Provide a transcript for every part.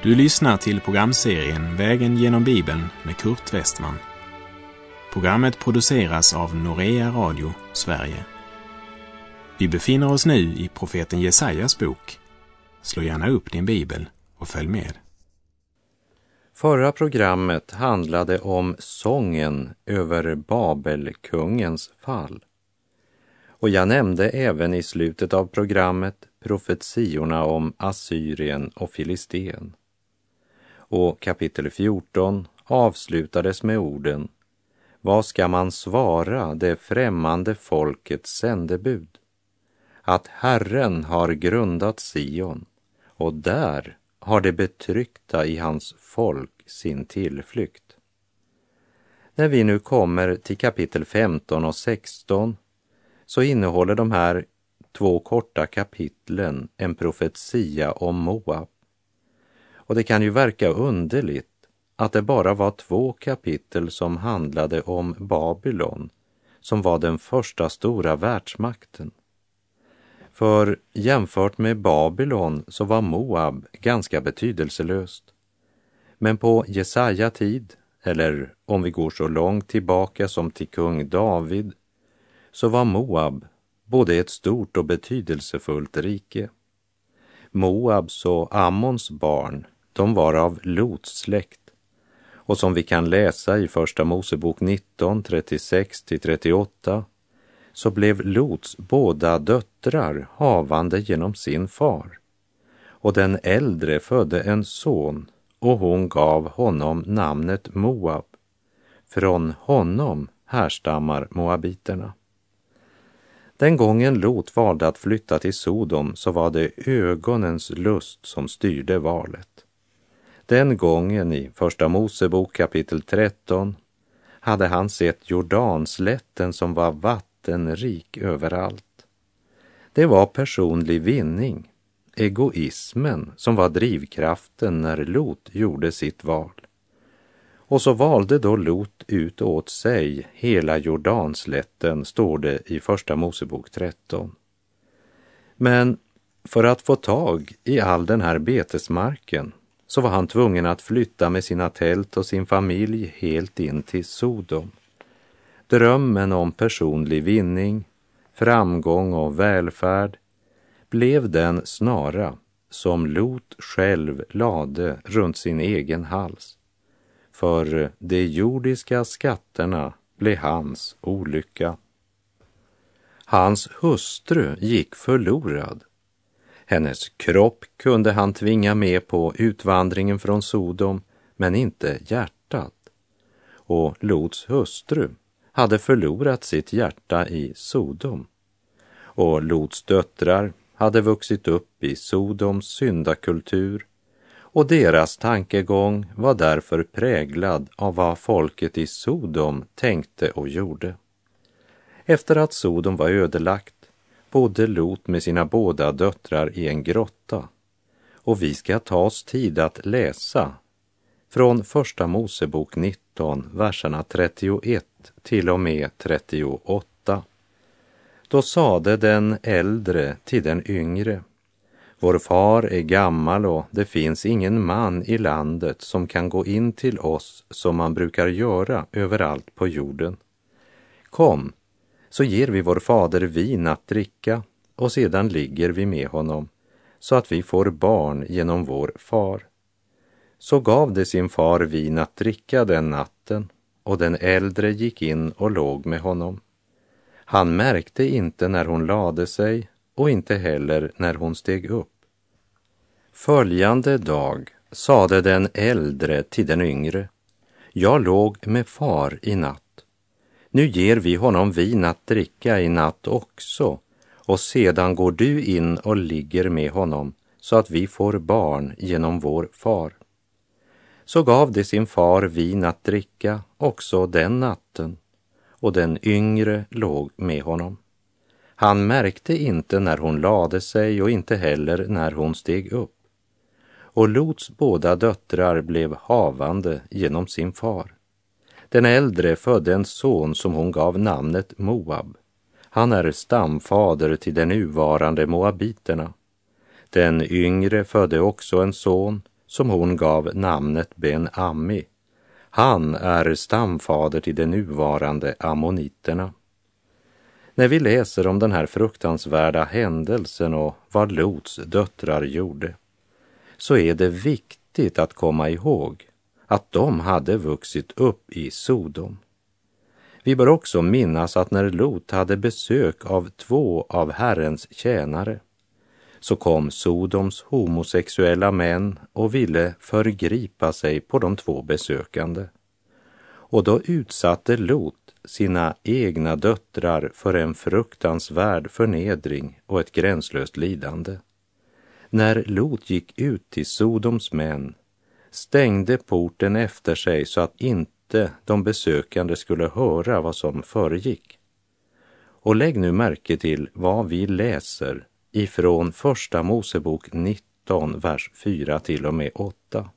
Du lyssnar till programserien Vägen genom Bibeln med Kurt Westman. Programmet produceras av Norea Radio, Sverige. Vi befinner oss nu i profeten Jesajas bok. Slå gärna upp din bibel och följ med. Förra programmet handlade om sången över Babelkungens fall. Och jag nämnde även i slutet av programmet profetiorna om Assyrien och Filisten. Och kapitel 14 avslutades med orden: Vad ska man svara det främmande folkets sändebud? Att Herren har grundat Sion, och där har det betryckta i hans folk sin tillflykt. När vi nu kommer till kapitel 15 och 16 så innehåller de här två korta kapitlen en profetia om Moab. Och det kan ju verka underligt att det bara var 2 kapitel som handlade om Babylon, som var den första stora världsmakten. För jämfört med Babylon så var Moab ganska betydelselöst. Men på Jesaja tid, eller om vi går så långt tillbaka som till kung David, så var Moab både ett stort och betydelsefullt rike. Moabs och Ammons barn, de var av Lots släkt. Och som vi kan läsa i första Mosebok 19, 36-38, så blev Lots båda döttrar havande genom sin far. Och den äldre födde en son, och hon gav honom namnet Moab. Från honom härstammar moabiterna. Den gången Lot valde att flytta till Sodom så var det ögonens lust som styrde valet. Den gången i första Mosebok kapitel 13 hade han sett Jordanslätten som var vattenrik överallt. Det var personlig vinning, egoismen, som var drivkraften när Lot gjorde sitt val. Och så valde då Lot ut åt sig hela Jordanslätten, står det i första Mosebok 13. Men för att få tag i all den här betesmarken så var han tvungen att flytta med sina tält och sin familj helt in till Sodom. Drömmen om personlig vinning, framgång och välfärd blev den snara som Lot själv lade runt sin egen hals. För de jordiska skatterna blev hans olycka. Hans hustru gick förlorad. Hennes kropp kunde han tvinga med på utvandringen från Sodom, men inte hjärtat. Och Lots hustru hade förlorat sitt hjärta i Sodom. Och Lots döttrar hade vuxit upp i Sodoms syndakultur, och deras tankegång var därför präglad av vad folket i Sodom tänkte och gjorde. Efter att Sodom var ödelagt bodde Lot med sina båda döttrar i en grotta. Och vi ska ta oss tid att läsa från första Mosebok 19, verserna 31 till och med 38. Då sade den äldre till den yngre: Vår far är gammal och det finns ingen man i landet som kan gå in till oss som man brukar göra överallt på jorden. Kom, så ger vi vår fader vin att dricka och sedan ligger vi med honom så att vi får barn genom vår far. Så gav det sin far vin att dricka den natten, och den äldre gick in och låg med honom. Han märkte inte när hon lade sig och inte heller när hon steg upp. Följande dag sade den äldre till den yngre: Jag låg med far i natt. Nu ger vi honom vin att dricka i natt också, och sedan går du in och ligger med honom så att vi får barn genom vår far. Så gav det sin far vin att dricka också den natten, och den yngre låg med honom. Han märkte inte när hon lade sig och inte heller när hon steg upp. Och Lots båda döttrar blev havande genom sin far. Den äldre födde en son som hon gav namnet Moab. Han är stamfader till de nuvarande moabiterna. Den yngre födde också en son som hon gav namnet Ben-Ammi. Han är stamfader till de nuvarande ammoniterna. När vi läser om den här fruktansvärda händelsen och vad Lots döttrar gjorde, så är det viktigt att komma ihåg att de hade vuxit upp i Sodom. Vi bör också minnas att när Lot hade besök av 2 av Herrens tjänare, så kom Sodoms homosexuella män och ville förgripa sig på de 2 besökande. Och då utsatte Lot sina egna döttrar för en fruktansvärd förnedring och ett gränslöst lidande. När Lot gick ut till Sodoms män, stängde porten efter sig så att inte de besökande skulle höra vad som föregick. Och lägg nu märke till vad vi läser ifrån Första Mosebok 19, vers 4 till och med 8.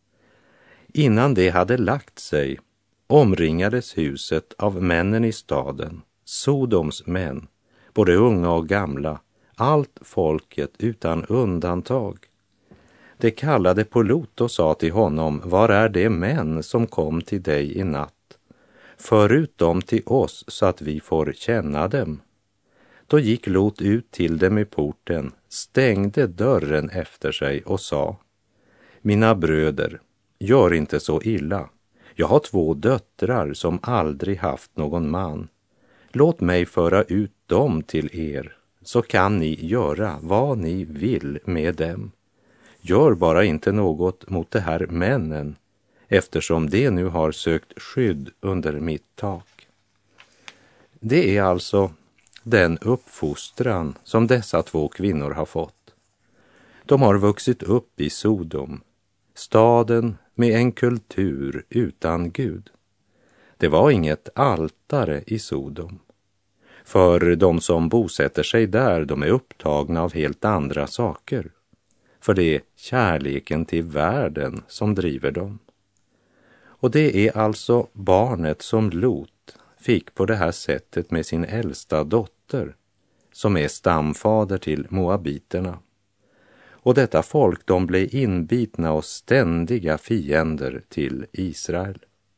Innan det hade lagt sig omringades huset av männen i staden, Sodoms män, både unga och gamla, allt folket utan undantag. De kallade på Lot och sa till honom: var är de män som kom till dig i natt? För ut dem till oss så att vi får känna dem. Då gick Lot ut till dem i porten, stängde dörren efter sig och sa: mina bröder, gör inte så illa. Jag har 2 döttrar som aldrig haft någon man. Låt mig föra ut dem till er, så kan ni göra vad ni vill med dem. Gör bara inte något mot de här männen, eftersom de nu har sökt skydd under mitt tak. Det är alltså den uppfostran som dessa 2 kvinnor har fått. De har vuxit upp i Sodom, staden med en kultur utan Gud. Det var inget altare i Sodom. För de som bosätter sig där, de är upptagna av helt andra saker. För det är kärleken till världen som driver dem. Och det är alltså barnet som Lot fick på det här sättet med sin äldsta dotter, som är stamfader till moabiterna. Och detta folk, de blev inbitna och ständiga fiender till Israel.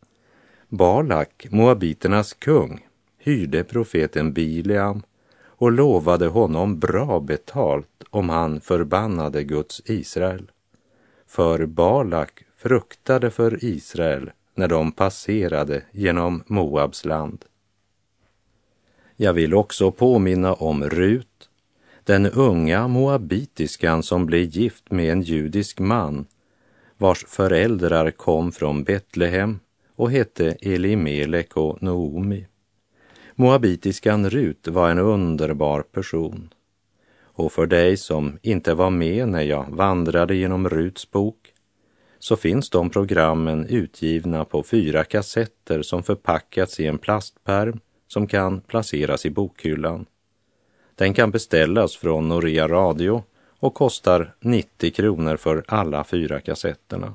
Balak, moabiternas kung, hyrde profeten Bileam och lovade honom bra betalt om han förbannade Guds Israel. För Balak fruktade för Israel när de passerade genom Moabs land. Jag vill också påminna om Rut, den unga moabitiskan som blev gift med en judisk man, vars föräldrar kom från Betlehem och hette Elimelek och Noomi. Moabitiskan Rut var en underbar person. Och för dig som inte var med när jag vandrade genom Ruts bok, så finns de programmen utgivna på 4 kassetter som förpackats i en plastpärm som kan placeras i bokhyllan. Den kan beställas från Norea Radio och kostar 90 kronor för alla 4 kassetterna.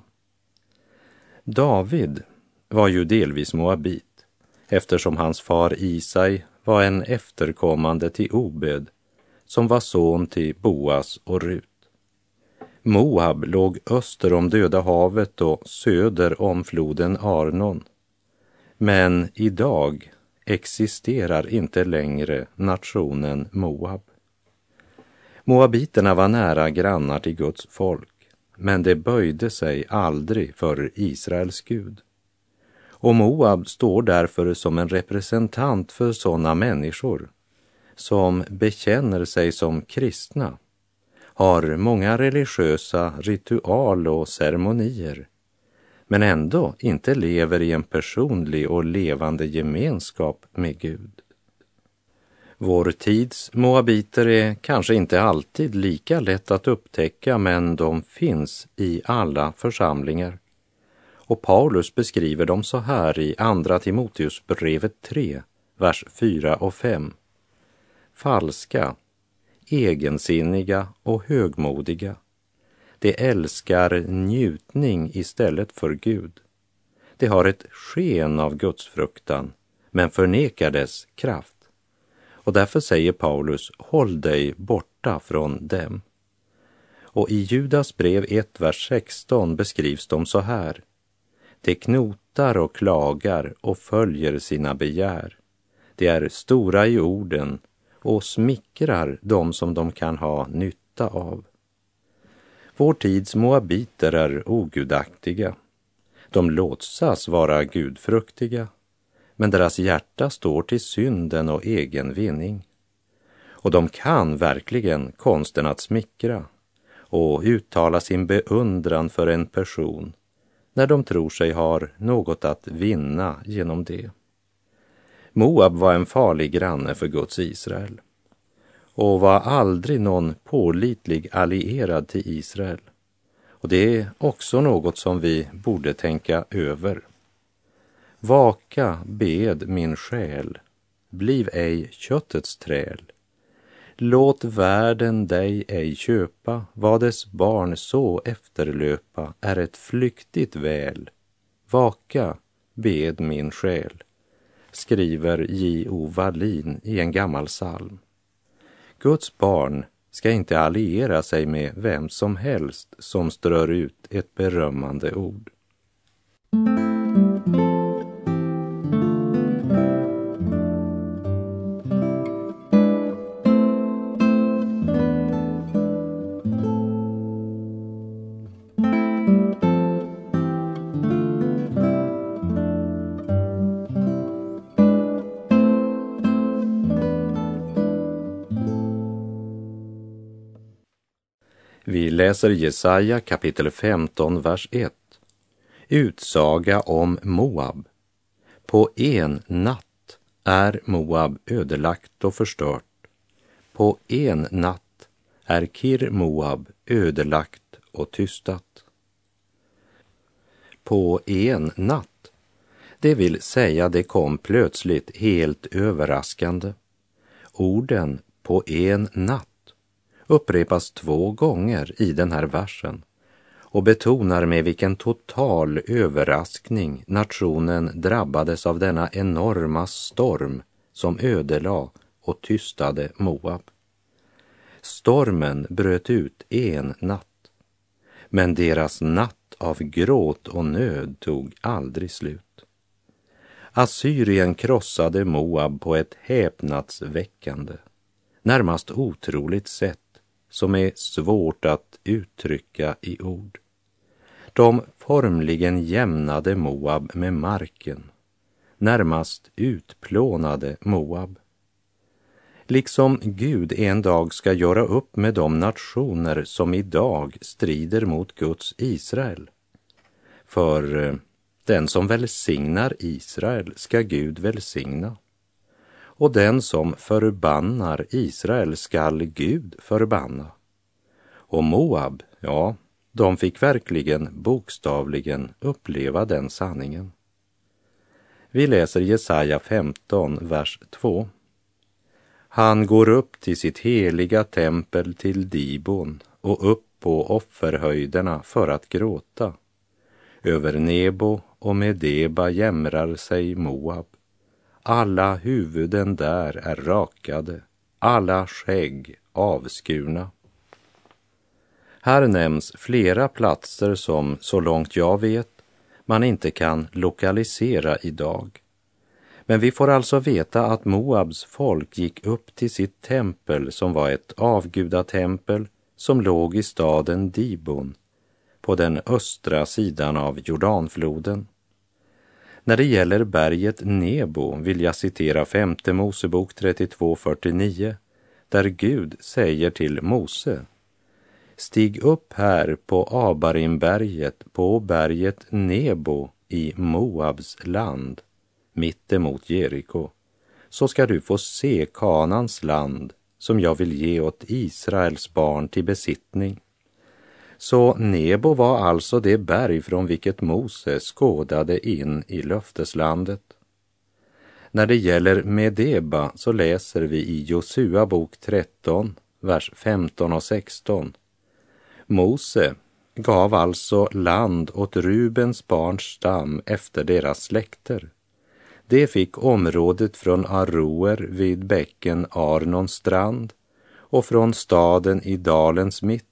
David var ju delvis moabit, eftersom hans far Isai var en efterkommande till Obed, som var son till Boas och Rut. Moab låg öster om Döda havet och söder om floden Arnon. Men idag existerar inte längre nationen Moab. Moabiterna var nära grannar till Guds folk, men de böjde sig aldrig för Israels Gud. Och Moab står därför som en representant för sådana människor som bekänner sig som kristna, har många religiösa ritual och ceremonier, men ändå inte lever i en personlig och levande gemenskap med Gud. Vår tids moabiter är kanske inte alltid lika lätt att upptäcka, men de finns i alla församlingar. Och Paulus beskriver dem så här i Andra Timoteusbrevet 3, vers 4 och 5. Falska, egensinniga och högmodiga. De älskar njutning istället för Gud. De har ett sken av Guds fruktan, men förnekar dess kraft. Och därför säger Paulus: håll dig borta från dem. Och i Judas brev 1, vers 16 beskrivs de så här: de knotar och klagar och följer sina begär. De är stora i orden och smickrar dem som de kan ha nytta av. Vår tids moabiter är ogudaktiga. De låtsas vara gudfruktiga, men deras hjärta står till synden och egen vinning. Och de kan verkligen konsten att smickra och uttala sin beundran för en person när de tror sig ha något att vinna genom det. Moab var en farlig granne för Guds Israel och var aldrig någon pålitlig allierad till Israel. Och det är också något som vi borde tänka över. Vaka, bed min själ, bliv ej köttets träl. Låt världen dig ej köpa, vad dess barn så efterlöpa är ett flyktigt väl. Vaka, bed min själ, skriver J.O. Wallin i en gammal psalm. Guds barn ska inte alliera sig med vem som helst som strör ut ett berömmande ord. Vi läser Jesaja kapitel 15, vers 1. Utsaga om Moab. På en natt är Moab ödelagt och förstört. På en natt är Kir Moab ödelagt och tystat. På en natt, det vill säga det kom plötsligt helt överraskande. Orden på en natt upprepas 2 gånger i den här versen och betonar med vilken total överraskning nationen drabbades av denna enorma storm som ödelade och tystade Moab. Stormen bröt ut en natt, men deras natt av gråt och nöd tog aldrig slut. Assyrien krossade Moab på ett häpnadsväckande, närmast otroligt sätt som är svårt att uttrycka i ord. De formligen jämnade Moab med marken, närmast utplånade Moab. Liksom Gud en dag ska göra upp med de nationer som idag strider mot Guds Israel. För den som välsignar Israel ska Gud välsigna. Och den som förbannar Israel skall Gud förbanna. Och Moab, ja, de fick verkligen bokstavligen uppleva den sanningen. Vi läser Jesaja 15, vers 2. Han går upp till sitt heliga tempel till Dibon och upp på offerhöjderna för att gråta. Över Nebo och Medeba jämrar sig Moab. Alla huvuden där är rakade, alla skägg avskurna. Här nämns flera platser som, så långt jag vet, man inte kan lokalisera idag. Men vi får alltså veta att Moabs folk gick upp till sitt tempel som var ett avgudatempel som låg i staden Dibon på den östra sidan av Jordanfloden. När det gäller berget Nebo vill jag citera 5:e Mosebok 32:49, där Gud säger till Mose: stig upp här på Abarimberget, på berget Nebo i Moabs land, mittemot Jeriko, så ska du få se Kanans land som jag vill ge åt Israels barn till besittning. Så Nebo var alltså det berg från vilket Mose skådade in i löfteslandet. När det gäller Medeba så läser vi i Josua bok 13, vers 15 och 16. Mose gav alltså land åt Rubens barns stam efter deras släkter. Det fick området från Aroer vid bäcken Arnons strand och från staden i dalens mitt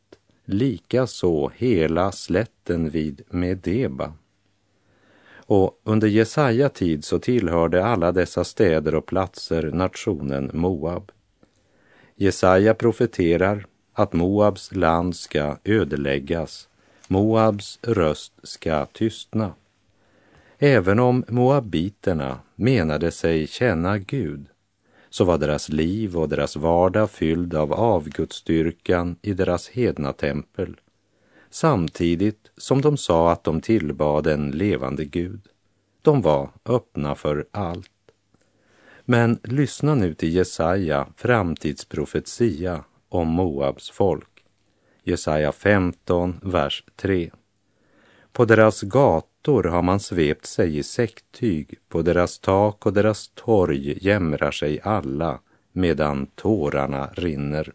likaså hela slätten vid Medeba. Och under Jesaja tid så tillhörde alla dessa städer och platser nationen Moab. Jesaja profeterar att Moabs land ska ödeläggas, Moabs röst ska tystna. Även om moabiterna menade sig känna Gud, så var deras liv och deras vardag fylld av avgudsdyrkan i deras hedna tempel, samtidigt som de sa att de tillbad en levande Gud. De var öppna för allt. Men lyssna nu till Jesaja framtidsprofetia om Moabs folk. Jesaja 15, vers 3. På deras gator har man svept sig i säcktyg, på deras tak och deras torg jämrar sig alla, medan tårarna rinner.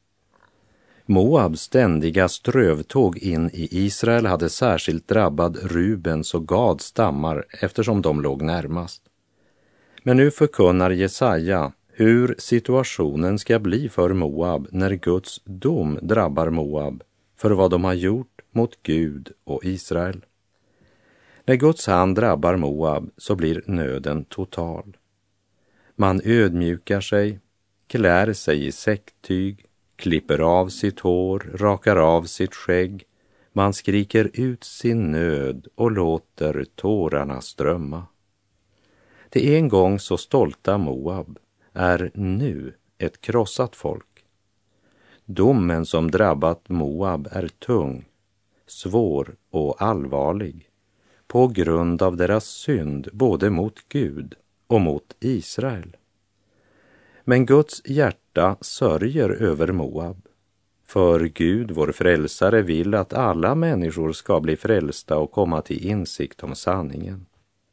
Moabs ständiga strövtåg in i Israel hade särskilt drabbat Rubens och Gads stammar eftersom de låg närmast. Men nu förkunnar Jesaja hur situationen ska bli för Moab när Guds dom drabbar Moab för vad de har gjort mot Gud och Israel. När Guds hand drabbar Moab så blir nöden total. Man ödmjukar sig, klär sig i säcktyg, klipper av sitt hår, rakar av sitt skägg. Man skriker ut sin nöd och låter tårarna strömma. Det en gång så stolta Moab är nu ett krossat folk. Domen som drabbat Moab är tung, svår och allvarlig på grund av deras synd både mot Gud och mot Israel. Men Guds hjärta sörjer över Moab, för Gud, vår frälsare, vill att alla människor ska bli frälsta och komma till insikt om sanningen.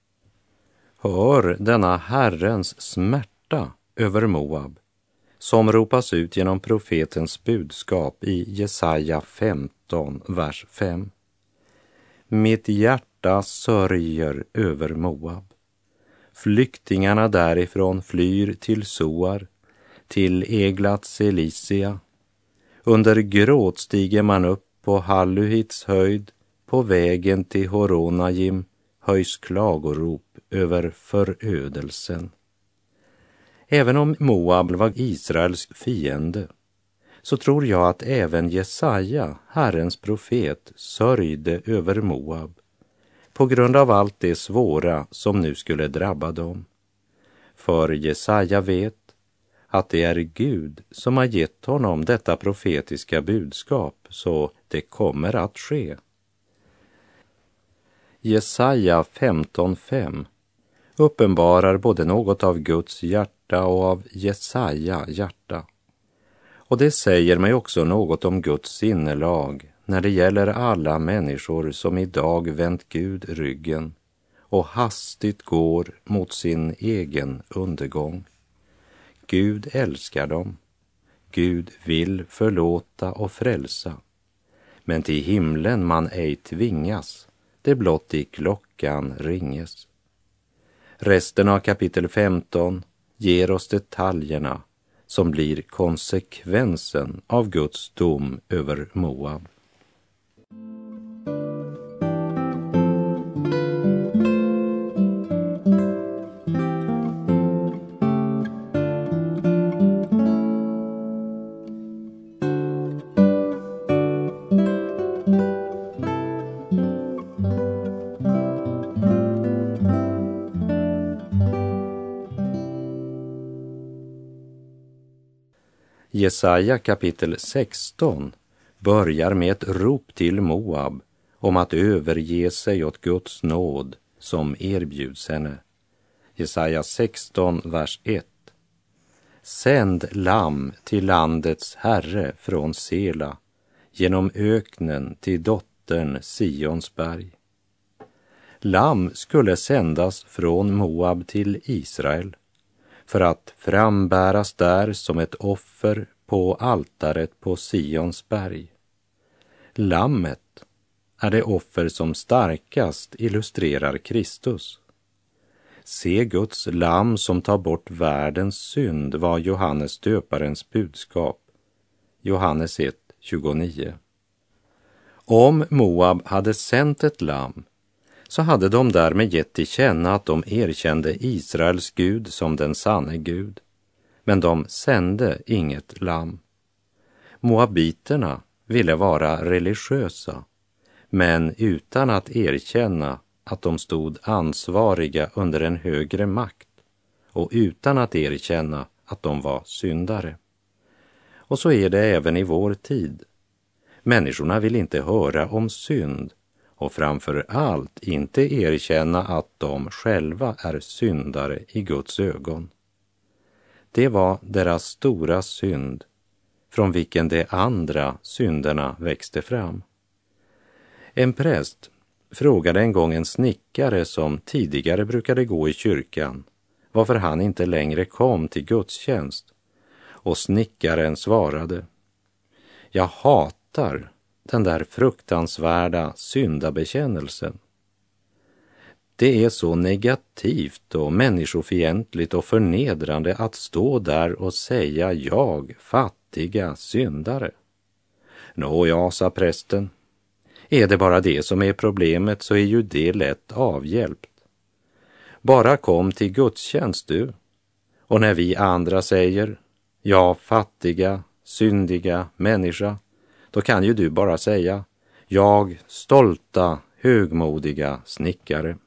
Hör denna Herrens smärta över Moab, som ropas ut genom profetens budskap i Jesaja 15, vers 5. Mitt hjärta sörjer över Moab. Flyktingarna därifrån flyr till Soar, till Eglat Selisia. Under gråt stiger man upp på Halluhits höjd, på vägen till Horonajim höjs klagorop över förödelsen. Även om Moab var Israels fiende, så tror jag att även Jesaja, Herrens profet, sörjde över Moab på grund av allt det svåra som nu skulle drabba dem. För Jesaja vet att det är Gud som har gett honom detta profetiska budskap, så det kommer att ske. Jesaja 15:5 uppenbarar både något av Guds hjärta och av Jesaja hjärta. Och det säger mig också något om Guds sinnelag när det gäller alla människor som idag vänt Gud ryggen och hastigt går mot sin egen undergång. Gud älskar dem. Gud vill förlåta och frälsa. Men till himlen man ej tvingas, det blott i klockan ringes. Resten av kapitel 15 ger oss detaljerna som blir konsekvensen av Guds dom över Moab. Jesaja kapitel 16 börjar med ett rop till Moab om att överge sig åt Guds nåd som erbjuds henne. Jesaja 16, vers 1. Sänd lamm till landets herre från Sela, genom öknen till dottern Sionsberg. Lamm skulle sändas från Moab till Israel för att frambäras där som ett offer på altaret på Sions berg. Lammet är det offer som starkast illustrerar Kristus. Se Guds lamm som tar bort världens synd, var Johannes döparens budskap. Johannes 1:29. Om Moab hade sänt ett lamm så hade de därmed gett till känna att de erkände Israels Gud som den sanne Gud. Men de sände inget lamm. Moabiterna ville vara religiösa, men utan att erkänna att de stod ansvariga under en högre makt och utan att erkänna att de var syndare. Och så är det även i vår tid. Människorna vill inte höra om synd och framför allt inte erkänna att de själva är syndare i Guds ögon. Det var deras stora synd, från vilken de andra synderna växte fram. En präst frågade en gång en snickare som tidigare brukade gå i kyrkan varför han inte längre kom till gudstjänst, och snickaren svarade: jag hatar den där fruktansvärda syndabekännelsen. Det är så negativt och människofientligt och förnedrande att stå där och säga jag, fattiga syndare. Nåja, sa prästen, är det bara det som är problemet så är ju det lätt avhjälpt. Bara kom till gudstjänst du, och när vi andra säger ja, fattiga, syndiga människa, då kan ju du bara säga jag, stolta, högmodiga snickare.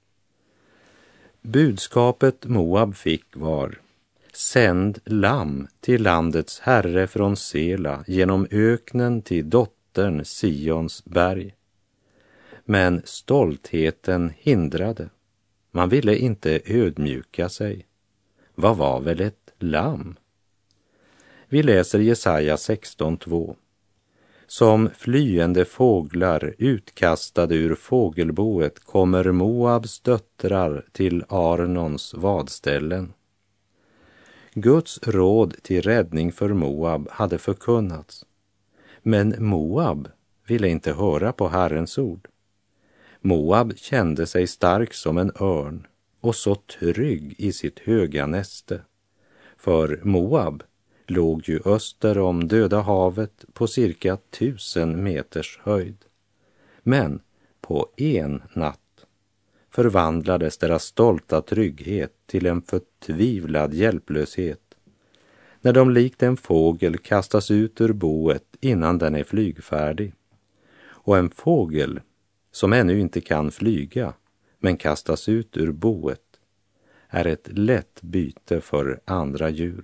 Budskapet Moab fick var: sänd lamm till landets herre från Sela genom öknen till dottern Sions berg. Men stoltheten hindrade. Man ville inte ödmjuka sig. Vad var väl ett lamm? Vi läser Jesaja 16:2. Som flyende fåglar utkastade ur fågelboet kommer Moabs döttrar till Arnons vadställen. Guds råd till räddning för Moab hade förkunnats. Men Moab ville inte höra på Herrens ord. Moab kände sig stark som en örn och så trygg i sitt höga näste. För Moab låg ju öster om Döda havet på cirka 1000 meters höjd. Men på en natt förvandlades deras stolta trygghet till en förtvivlad hjälplöshet, när de likt en fågel kastas ut ur boet innan den är flygfärdig. Och en fågel som ännu inte kan flyga men kastas ut ur boet är ett lätt byte för andra djur.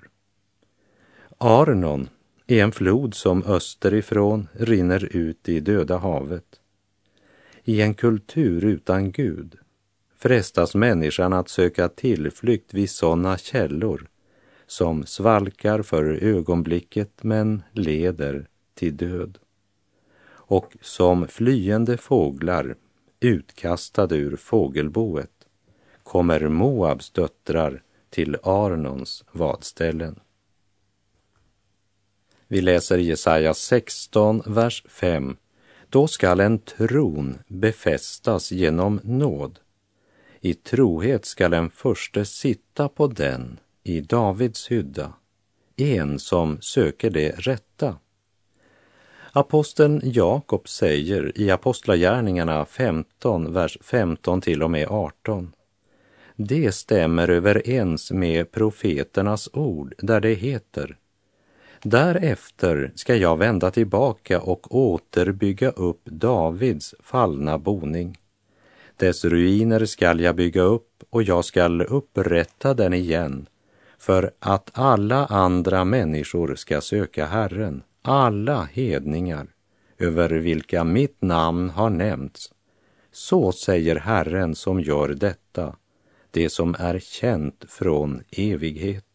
Arnon är en flod som österifrån rinner ut i Döda havet. I en kultur utan Gud frestas människan att söka tillflykt vid sådana källor som svalkar för ögonblicket men leder till död. Och som flyende fåglar utkastade ur fågelboet kommer Moabs döttrar till Arnons vadställen. Vi läser Jesaja 16, vers 5. Då skall en tron befästas genom nåd. I trohet skall en förste sitta på den i Davids hydda, en som söker det rätta. Aposteln Jakob säger i Apostlagärningarna 15, vers 15 till och med 18. Det stämmer överens med profeternas ord där det heter: därefter ska jag vända tillbaka och återbygga upp Davids fallna boning. Dess ruiner skall jag bygga upp och jag skall upprätta den igen, för att alla andra människor ska söka Herren, alla hedningar, över vilka mitt namn har nämnts. Så säger Herren som gör detta, det som är känt från evighet.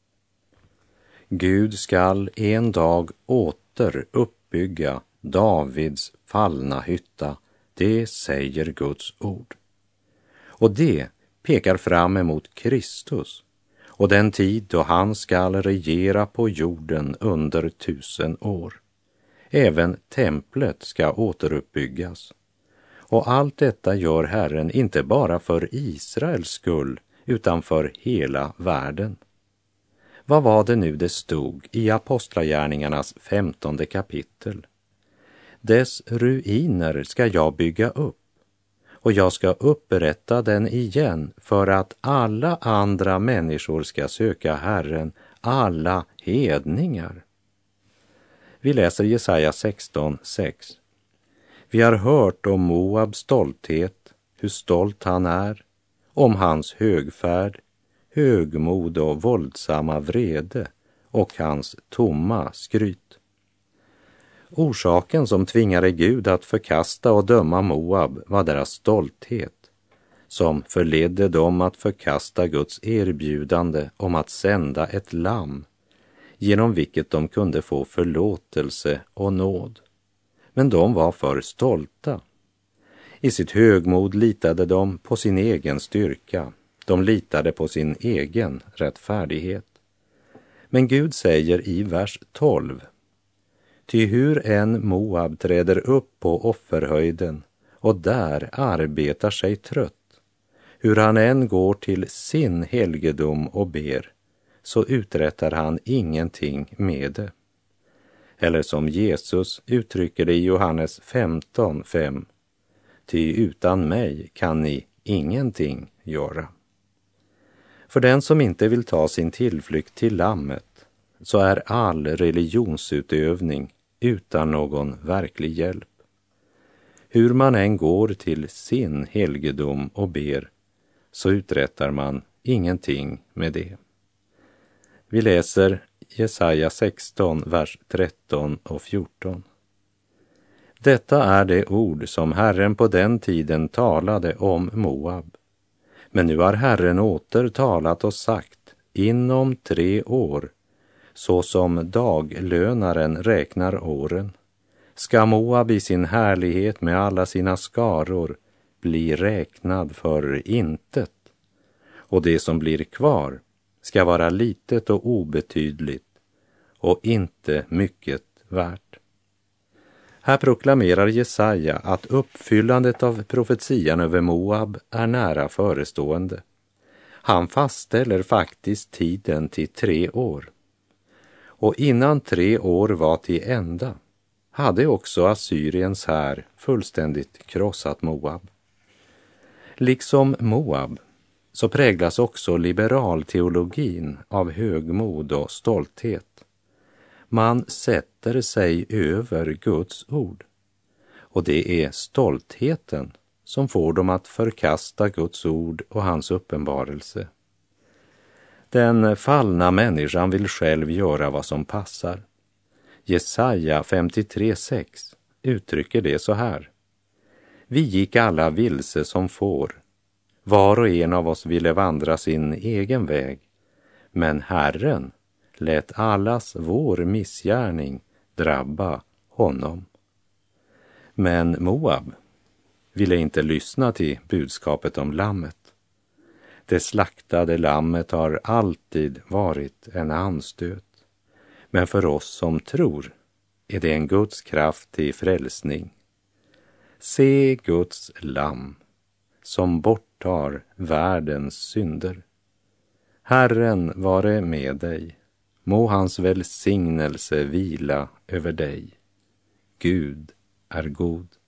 Gud skall en dag åter uppbygga Davids fallna hytta, det säger Guds ord. Och det pekar fram emot Kristus och den tid då han skall regera på jorden under 1000 år. Även templet ska återuppbyggas. Och allt detta gör Herren inte bara för Israels skull utan för hela världen. Vad var det nu det stod i Apostlagärningarnas 15:e kapitel? Dess ruiner ska jag bygga upp, och jag ska upprätta den igen för att alla andra människor ska söka Herren, alla hedningar. Vi läser Jesaja 16:6. Vi har hört om Moabs stolthet, hur stolt han är, om hans högfärd, högmod och våldsamma vrede och hans tomma skryt. Orsaken som tvingade Gud att förkasta och döma Moab var deras stolthet, som förledde dem att förkasta Guds erbjudande om att sända ett lamm, genom vilket de kunde få förlåtelse och nåd. Men de var för stolta. I sitt högmod litade de på sin egen styrka. De litade på sin egen rättfärdighet. Men Gud säger i vers 12: Ty hur en Moab träder upp på offerhöjden och där arbetar sig trött, hur han än går till sin helgedom och ber, så uträttar han ingenting med det. Eller som Jesus uttrycker det i Johannes 15:5: Ty utan mig kan ni ingenting göra. För den som inte vill ta sin tillflykt till lammet, så är all religionsutövning utan någon verklig hjälp. Hur man än går till sin helgedom och ber, så uträttar man ingenting med det. Vi läser Jesaja 16, vers 13 och 14. Detta är det ord som Herren på den tiden talade om Moab. Men nu har Herren åter talat och sagt: inom 3 år, så som daglönaren räknar åren, ska Moab i sin härlighet med alla sina skaror bli räknad för intet, och det som blir kvar ska vara litet och obetydligt och inte mycket värt. Här proklamerar Jesaja att uppfyllandet av profetian över Moab är nära förestående. Han fastställer faktiskt tiden till 3 år. Och innan 3 år var till ända hade också Assyriens här fullständigt krossat Moab. Liksom Moab så präglas också liberalteologin av högmod och stolthet. Man sätter sig över Guds ord, och det är stoltheten som får dem att förkasta Guds ord och hans uppenbarelse. Den fallna människan vill själv göra vad som passar. Jesaja 53:6 uttrycker det så här: Vi gick alla vilse som får. Var och en av oss ville vandra sin egen väg. Men Herren lät allas vår missgärning drabba honom. Men Moab ville inte lyssna till budskapet om lammet. Det slaktade lammet har alltid varit en anstöt. Men för oss som tror är det en Guds kraft till frälsning. Se Guds lamm som borttar världens synder. Herren vare med dig. Må hans välsignelse vila över dig. Gud är god.